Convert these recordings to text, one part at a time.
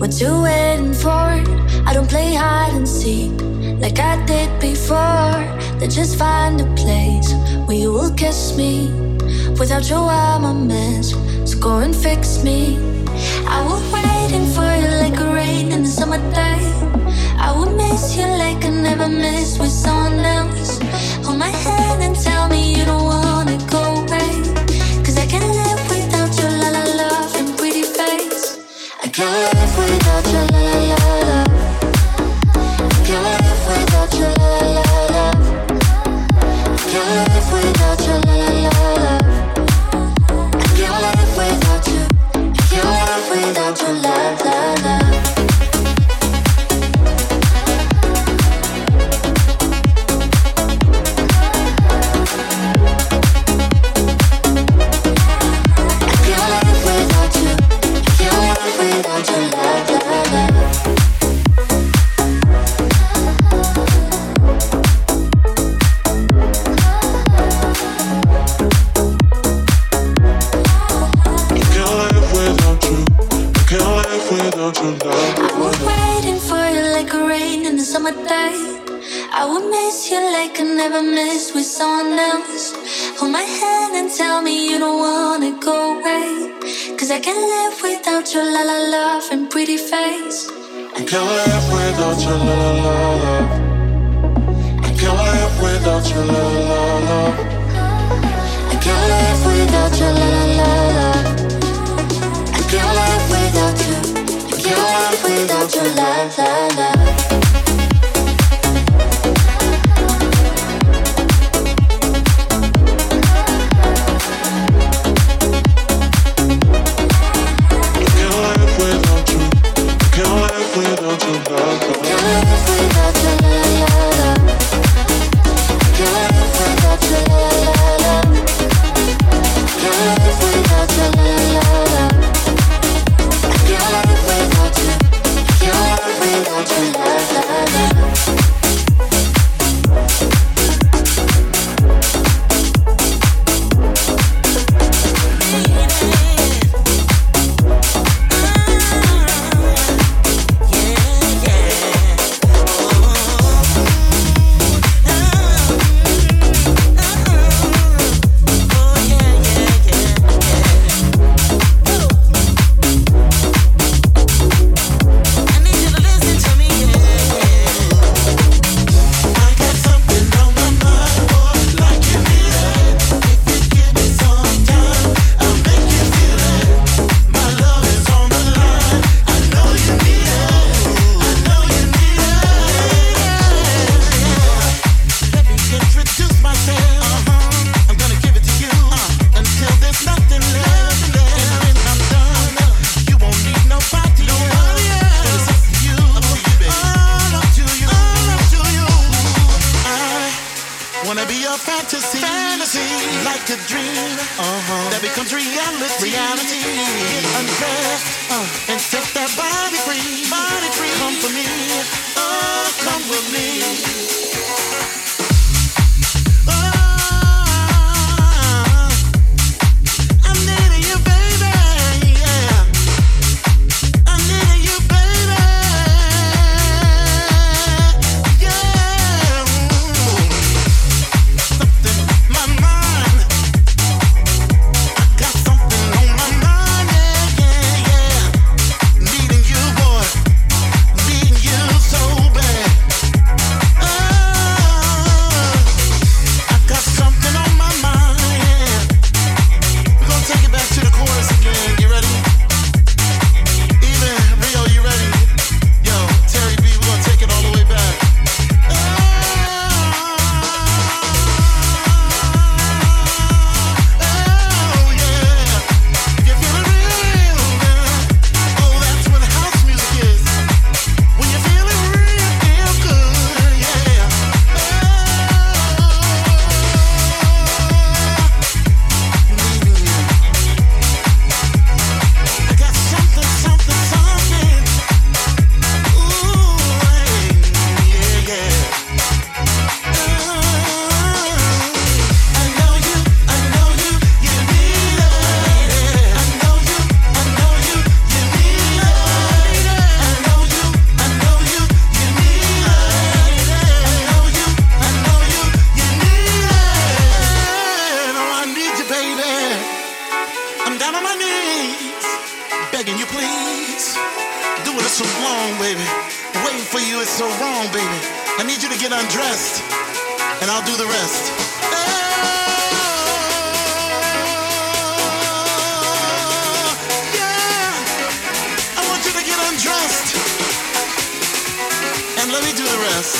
What you waiting for? I don't play hide and seek like I did before. Then just find a place where you will kiss me. Without you I'm a mess, so go and fix me. I was waiting for you like a rain in the summertime. I will miss you like I never missed with someone else. Hold my hand and tell me you don't wanna go away. Cause I can't live without your la la love and pretty face. I can't live without your la la la love. I can't live without your la la la love. I can't live without your la la la love. I can't live without you. I can't live without your la la la. I would miss you like I never missed with someone else. Hold my hand and tell me you don't wanna go away. Cause I can't live without your la la love and pretty face. I can't live without your la la la love. I can't live without your la la la love. I can't live without your la la la love. I can't live without you. I can't live without your la la la. Needing you I'm down on my knees, begging you please. Doing it so long, baby. Waiting for you is so wrong, baby. I need you to get undressed, and I'll do the rest. Yeah, I want you to get undressed, and let me do the rest.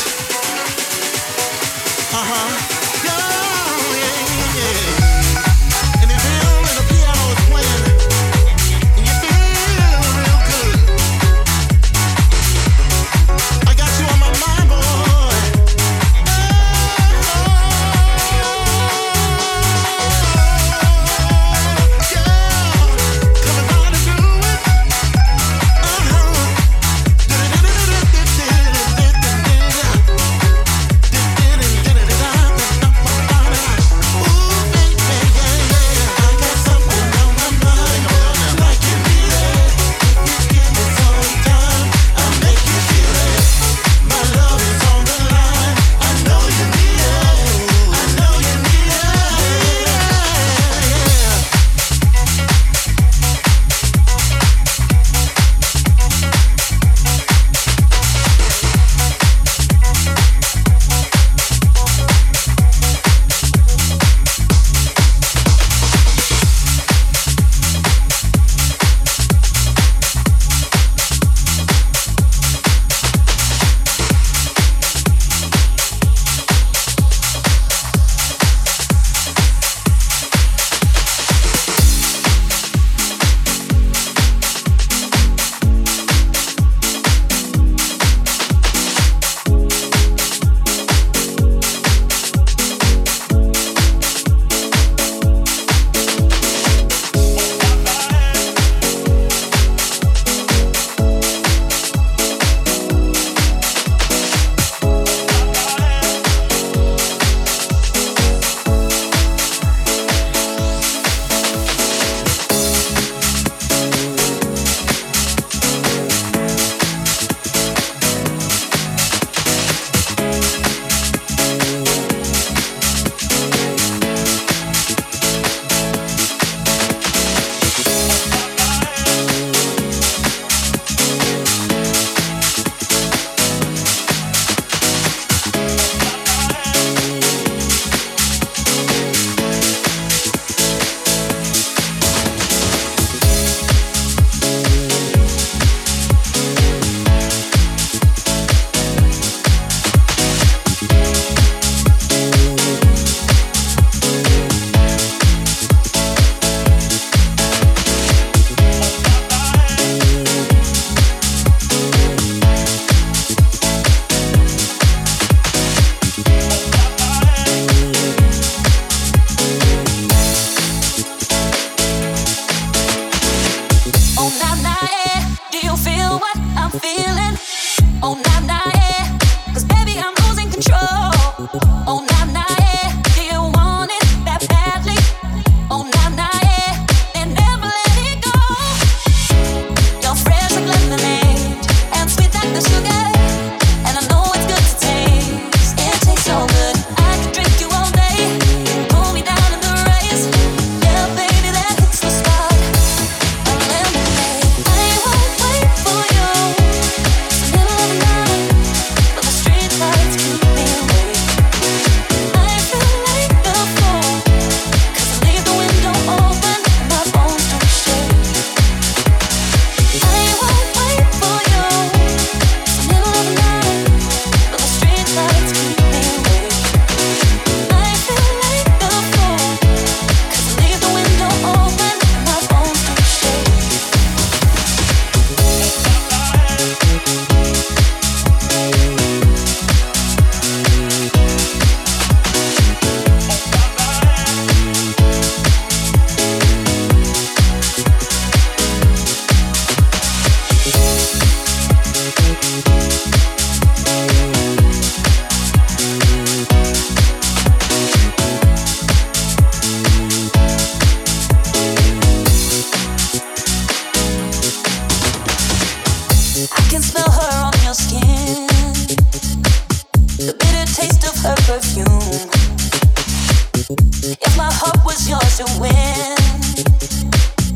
If my heart was yours to win,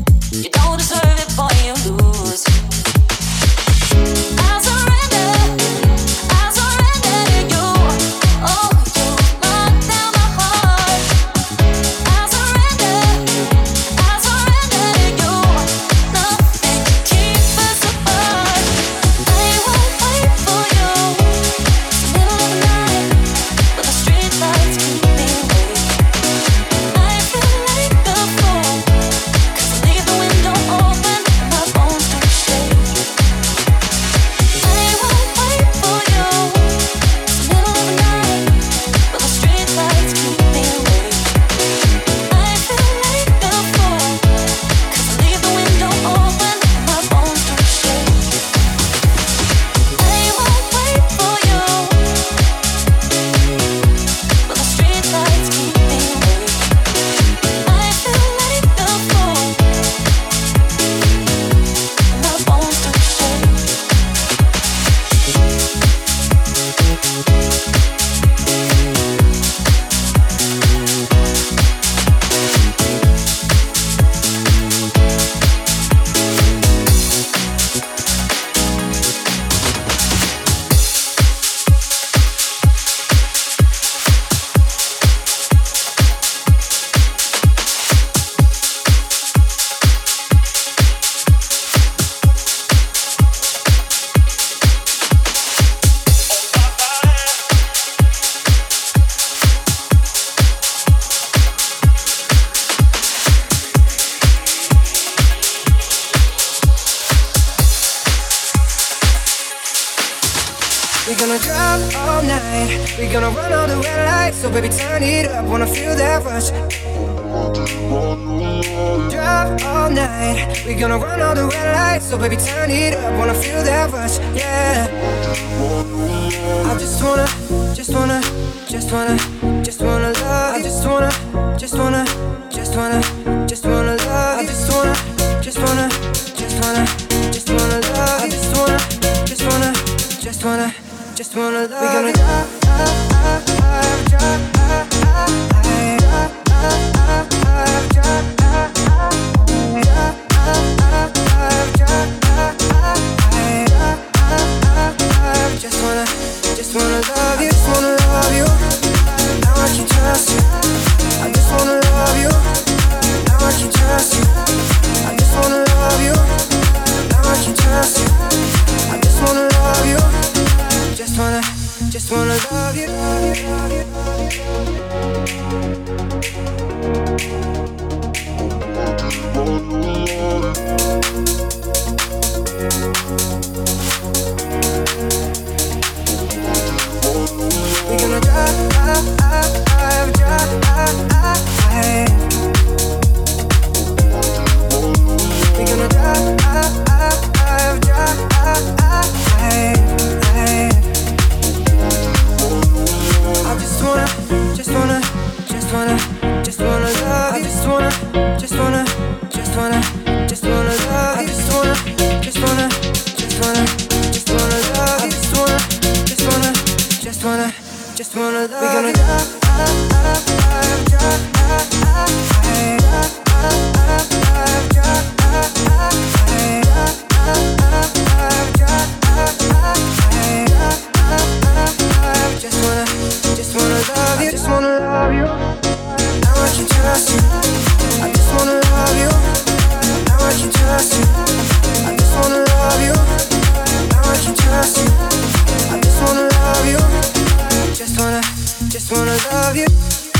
gonna drive all night. We gonna run all the red lights. So baby, turn it up. Wanna feel that rush. Drive all night. We gonna run all the red lights. So baby, turn it up. Wanna feel that rush. Yeah. I just wanna love. I just wanna love. I just wanna love. I just wanna love. I just wanna love. I just wanna love. I just wanna love. We're gonna drive. Just wanna love you, just wanna love you. Now I can trust you. I just wanna love you. Now I can trust you. I just wanna love you. Now I can trust you. I just wanna love you. Just wanna love you. We're gonna drive. We're gonna drive. I just wanna love. I just wanna love. I just wanna love. I just wanna love. I just wanna love. We're gonna drive. Just wanna love you. Just wanna love you. Now I can trust you. I just wanna love you. Now I can trust you. I just wanna love you. Now I can trust you. I just wanna love you. Just wanna love you.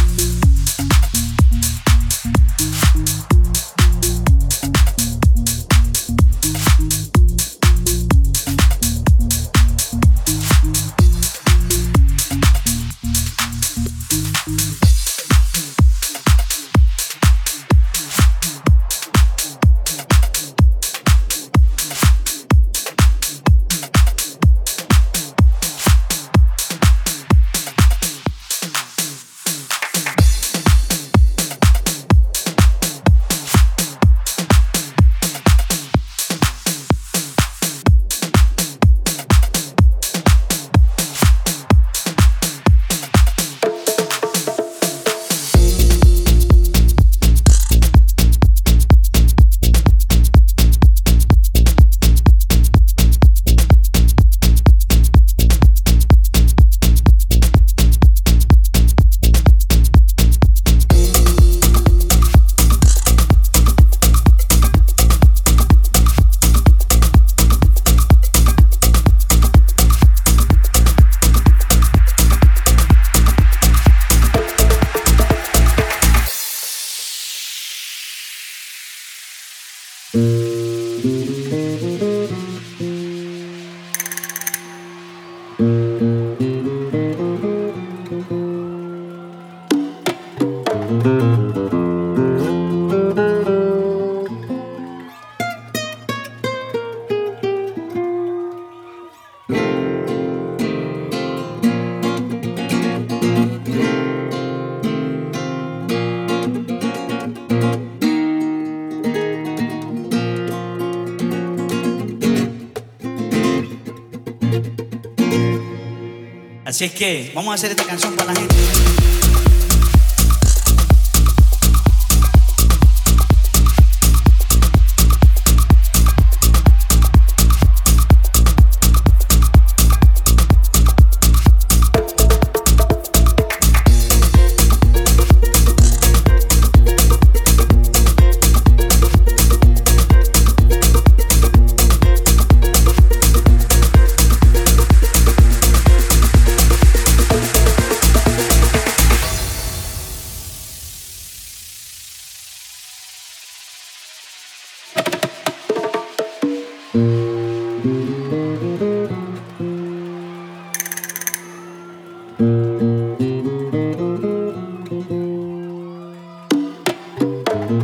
Así es que vamos a hacer esta canción para la gente.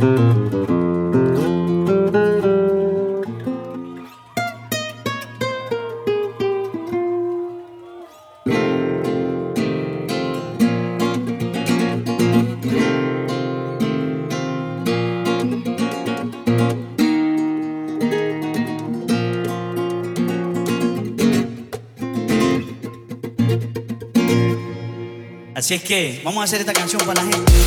Así es que vamos a hacer esta canción para la gente.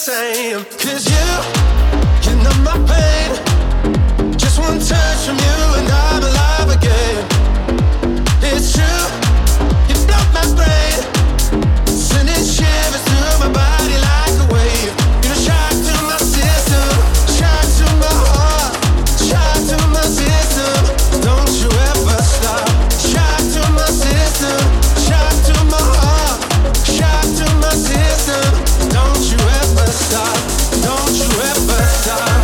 same. 'Cause you numb my pain. Just one touch from you and I'm alive again. It's true, you block my brain, sending shivers through my body like a wave. You're a shock to my system, shock to my heart, shock to my system. Don't you ever stop. Shock to my system, shock to my heart, shock to my system. Don't you ever stop. Don't you ever stop.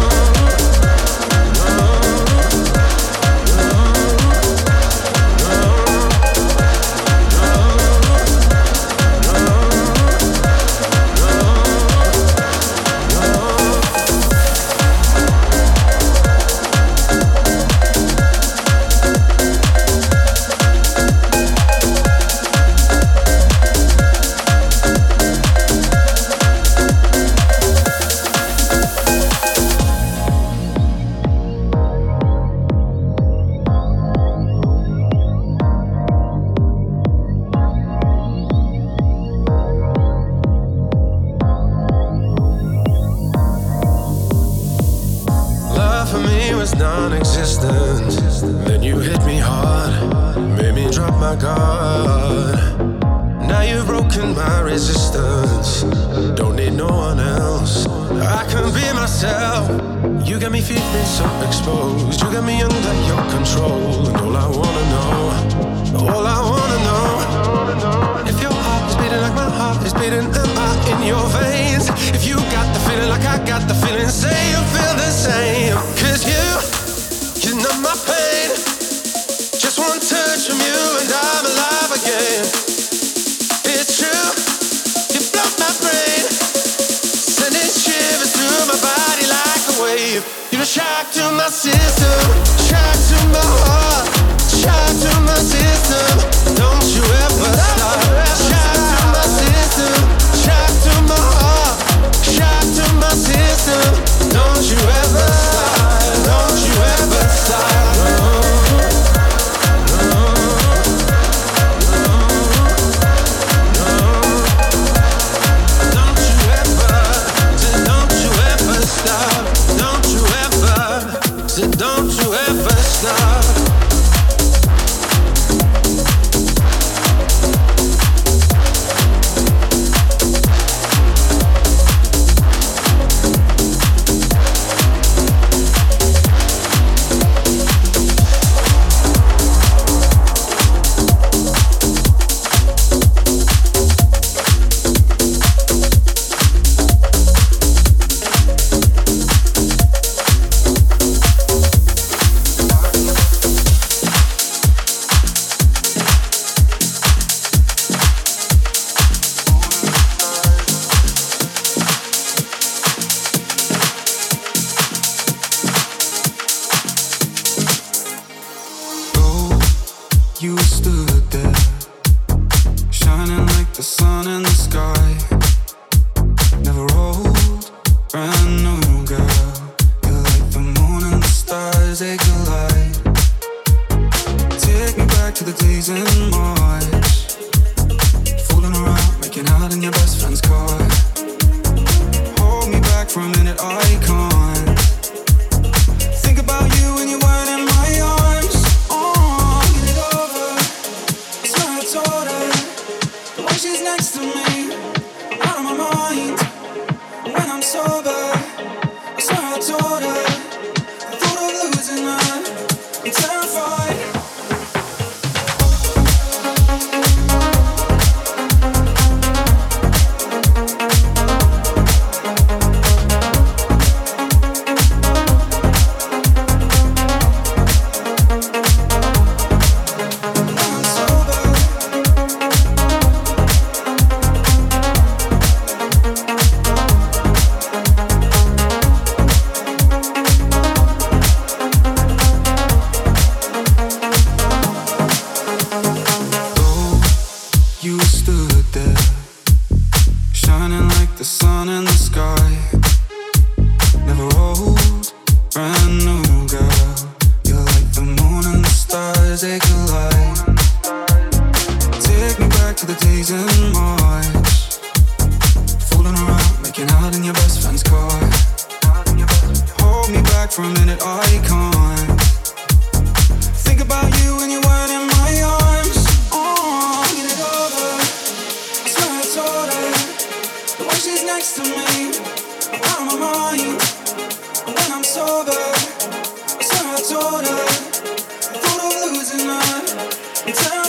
Non-existent. Then you hit me hard, made me drop my guard. Now you've broken my resistance. Don't need no one else. I can be myself. You got me feeling so exposed. You got me under your control. And all I wanna know, if your heart is beating like my heart is beating, am I in your veins? If you got the feeling like I got the feeling, say you feel the same. 'Cause you numb my pain. Just one touch from you and I'm alive again. It's true, you block my brain, sending shivers through my body like a wave. You're a shock to my system, shock to my heart, shock to my system. Don't you ever stop. Shock to my system, shock to my heart, shock to my system. Don't you ever stop. Don't you ever stop. Don't you ever stop. Walking out in your best friend's car. Hold me back for a minute, I can't. Think about you when you weren't in my arms. Oh, get it over. I swear I told her the way she's next to me, I'm out of my mind. And when I'm sober, I swear I told her I thought of losing her.